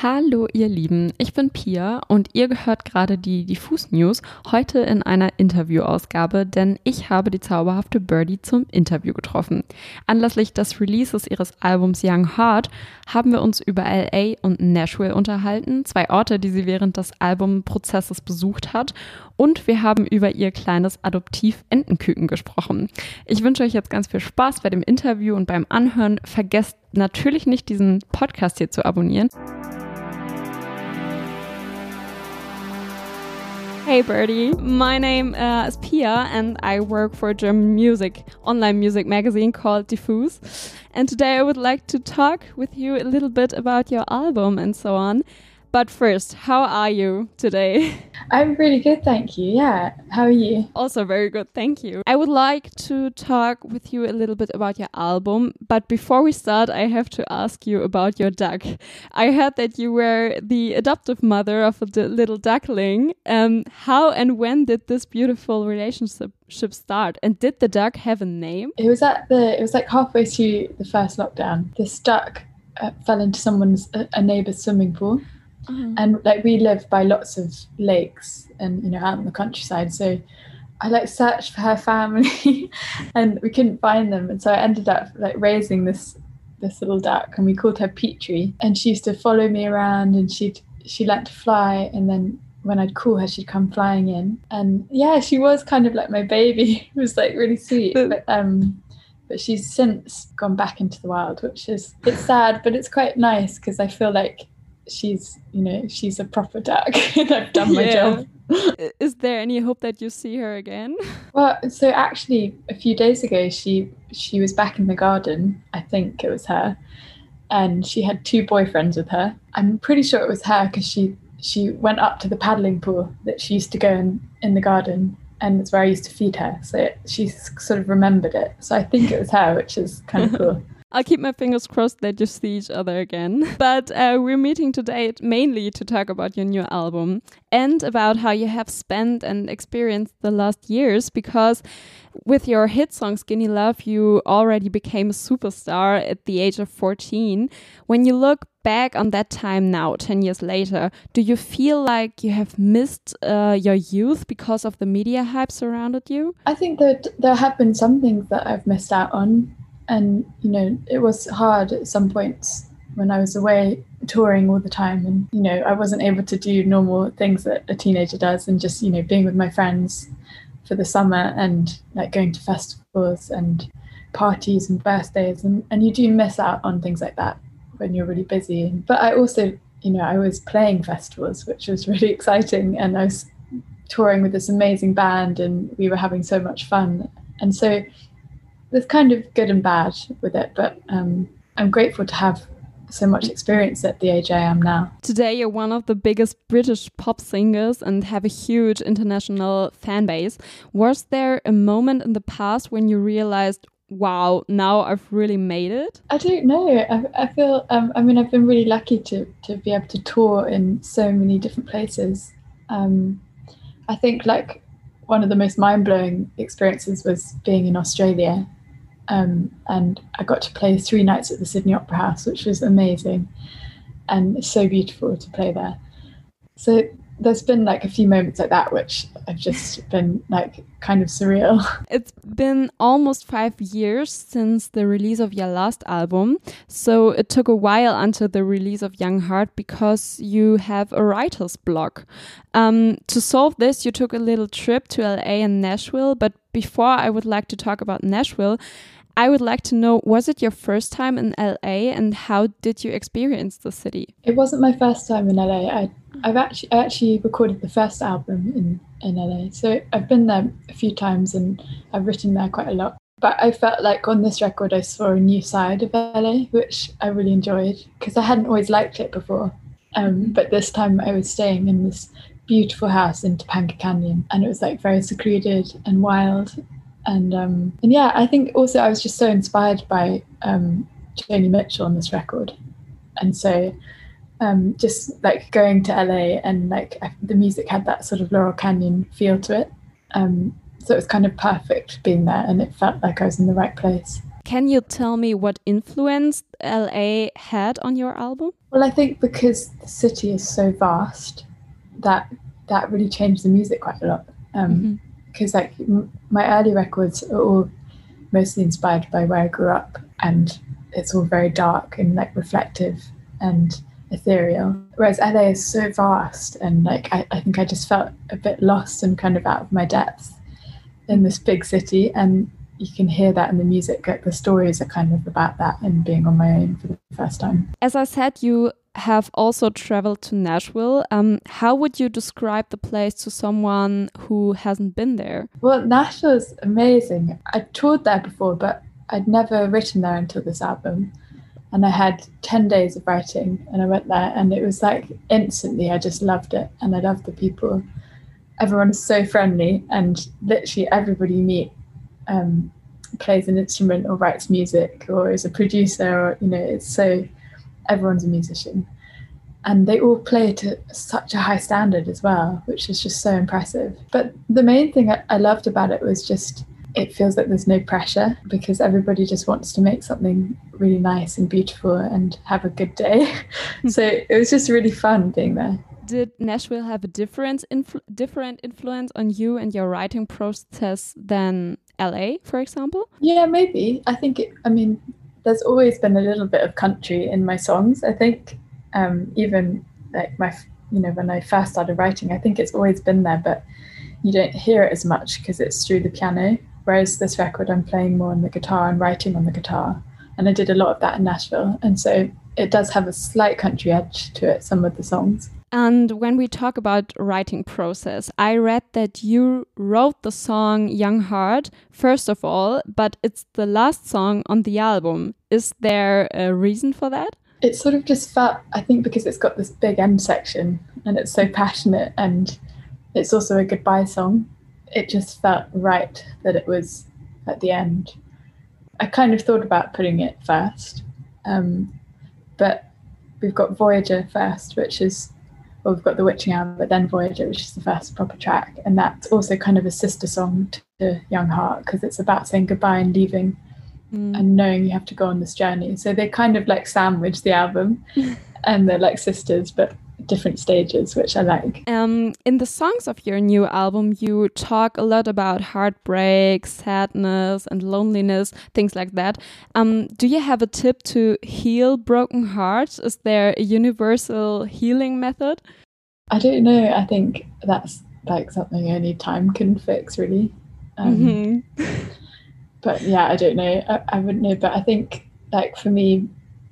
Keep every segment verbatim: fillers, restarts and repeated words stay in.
Hallo ihr Lieben, ich bin Pia und ihr gehört gerade die Diffus News, heute in einer Interviewausgabe, denn ich habe die zauberhafte Birdy zum Interview getroffen. Anlässlich des Releases ihres Albums Young Heart haben wir uns über L A und Nashville unterhalten, zwei Orte, die sie während des Albumprozesses besucht hat, und wir haben über ihr kleines Adoptiv-Entenküken gesprochen. Ich wünsche euch jetzt ganz viel Spaß bei dem Interview und beim Anhören. Vergesst natürlich nicht, diesen Podcast hier zu abonnieren. Hey Birdy, my name uh, is Pia and I work for a German music, online music magazine called Diffus. And today I would like to talk with you a little bit about your album and so on. But first, how are you today? I'm really good, thank you. Yeah, how are you? Also very good, thank you. I would like to talk with you a little bit about your album, but before we start, I have to ask you about your duck. I heard that you were the adoptive mother of a d- little duckling. Um, how and when did this beautiful relationship start? And did the duck have a name? It was at the. It was like halfway through the first lockdown. This duck uh, fell into someone's a, a neighbour's swimming pool. Uh-huh. And like we live by lots of lakes and, you know, out in the countryside, so I like searched for her family and we couldn't find them, and so I ended up like raising this this little duck, and we called her Petrie, and she used to follow me around, and she'd she learnt to fly, and then when I'd call her she'd come flying in, and yeah, she was kind of like my baby. It was like really sweet. but um but she's since gone back into the wild, which is, it's sad, but it's quite nice because I feel like she's, you know, she's a proper duck and I've done my yeah. job. Is there any hope that you see her again? Well, so actually a few days ago she she was back in the garden. I think it was her, and she had two boyfriends with her. I'm pretty sure it was her because she she went up to the paddling pool that she used to go in in the garden, and it's where I used to feed her, so it, she sort of remembered it. So I think it was her, which is kind of cool. I'll keep my fingers crossed that you see each other again. But uh, we're meeting today mainly to talk about your new album and about how you have spent and experienced the last years, because with your hit song Skinny Love, you already became a superstar at the age of fourteen. When you look back on that time now, ten years later, do you feel like you have missed uh, your youth because of the media hype surrounded you? I think that there have been some things that I've missed out on. And, you know, it was hard at some points when I was away touring all the time. And, you know, I wasn't able to do normal things that a teenager does, and just, you know, being with my friends for the summer and like going to festivals and parties and birthdays. And, and you do miss out on things like that when you're really busy. But I also, you know, I was playing festivals, which was really exciting. And I was touring with this amazing band and we were having so much fun. And so there's kind of good and bad with it, but um, I'm grateful to have so much experience at the age I am now. Today you're one of the biggest British pop singers and have a huge international fan base. Was there a moment in the past when you realized, wow, now I've really made it? I don't know. I, I feel, um, I mean, I've been really lucky to, to be able to tour in so many different places. Um, I think like one of the most mind-blowing experiences was being in Australia. Um, and I got to play three nights at the Sydney Opera House, which was amazing, and it's so beautiful to play there. So there's been like a few moments like that which have just been like kind of surreal. It's been almost five years since the release of your last album, so it took a while until the release of Young Heart because you have a writer's block. Um, to solve this, you took a little trip to L A and Nashville, but before I would like to talk about Nashville, I would like to know, was it your first time in L A and how did you experience the city? It wasn't my first time in L A. I, I've actually I actually recorded the first album in, in L A. So I've been there a few times and I've written there quite a lot. But I felt like on this record I saw a new side of L A, which I really enjoyed because I hadn't always liked it before. Um, but this time I was staying in this beautiful house in Topanga Canyon, and it was like very secluded and wild. And um, and yeah, I think also I was just so inspired by um, Joni Mitchell on this record. And so um, just like going to L A and like I, the music had that sort of Laurel Canyon feel to it. Um, so it was kind of perfect being there, and it felt like I was in the right place. Can you tell me what influence L A had on your album? Well, I think because the city is so vast, that that really changed the music quite a lot. Um, because mm-hmm. like m- my early records are all mostly inspired by where I grew up, and it's all very dark and like reflective and ethereal. Whereas L A is so vast, and like I, I think I just felt a bit lost and kind of out of my depth in this big city, and you can hear that in the music. Like the stories are kind of about that and being on my own for the first time. As I said, you have also traveled to Nashville. Um, how would you describe the place to someone who hasn't been there? Well, Nashville is amazing. I'd toured there before, but I'd never written there until this album. And I had ten days of writing, and I went there, and it was like instantly I just loved it, and I loved the people. Everyone is so friendly, and literally everybody you meet um, plays an instrument or writes music or is a producer, or, you know, it's so, everyone's a musician. And they all play to such a high standard as well, which is just so impressive. But the main thing I, I loved about it was just, it feels like there's no pressure, because everybody just wants to make something really nice and beautiful and have a good day. So it was just really fun being there. Did Nashville have a different, influ- different influence on you and your writing process than L A, for example? Yeah, maybe. I think, it, I mean, there's always been a little bit of country in my songs. I think um, even like my, you know, when I first started writing, I think it's always been there, but you don't hear it as much because it's through the piano. Whereas this record, I'm playing more on the guitar and writing on the guitar. And I did a lot of that in Nashville. And so it does have a slight country edge to it, some of the songs. And when we talk about writing process, I read that you wrote the song Young Heart, first of all, but it's the last song on the album. Is there a reason for that? It sort of just felt, I think because it's got this big end section and it's so passionate, and it's also a goodbye song, it just felt right that it was at the end. I kind of thought about putting it first, um, but we've got Voyager first, which is, well, we've got The Witching Hour, but then Voyager, which is the first proper track. And that's also kind of a sister song to Young Heart, because it's about saying goodbye and leaving mm. and knowing you have to go on this journey. So they kind of like sandwich the album and they're like sisters, but different stages, which I like. Um, in the songs of your new album, you talk a lot about heartbreak, sadness, and loneliness, things like that. Um, do you have a tip to heal broken hearts? Is there a universal healing method? I don't know. I think that's like something only time can fix, really. Um, mm-hmm. But yeah, I don't know. I, I wouldn't know. But I think, like, for me,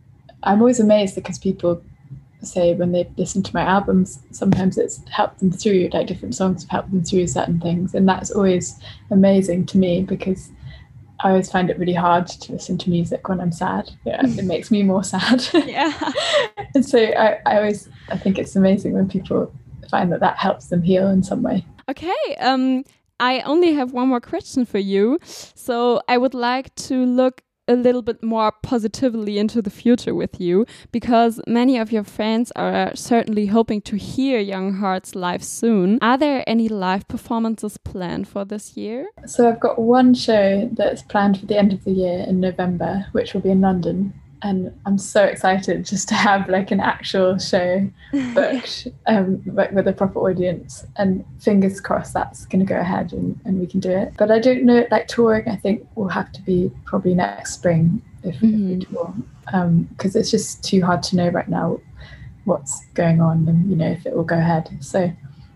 I'm always amazed because people say when they listen to my albums, sometimes it's helped them through, like different songs have helped them through certain things, and that's always amazing to me, because I always find it really hard to listen to music when I'm sad. Yeah, it makes me more sad. Yeah. And so I, I always I think it's amazing when people find that that helps them heal in some way. Okay, um I only have one more question for you, so I would like to look a little bit more positively into the future with you, because many of your fans are certainly hoping to hear Young Hearts live soon. Are there any live performances planned for this year? So I've got one show that's planned for the end of the year in November, which will be in London. And I'm so excited just to have like an actual show booked um, with a proper audience, and fingers crossed that's going to go ahead and, and we can do it. But I don't know, like touring, I think will have to be probably next spring if, mm-hmm. if we tour, because um, it's just too hard to know right now what's going on and, you know, if it will go ahead. So,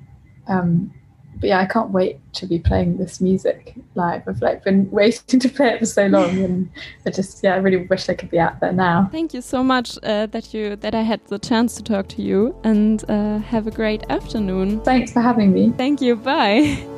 um, but yeah, I can't wait to be playing this music live. I've like been waiting to play it for so long, and I just yeah, I really wish I could be out there now. Thank you so much uh, that you that I had the chance to talk to you, and uh, have a great afternoon. Thanks for having me. Thank you. Bye.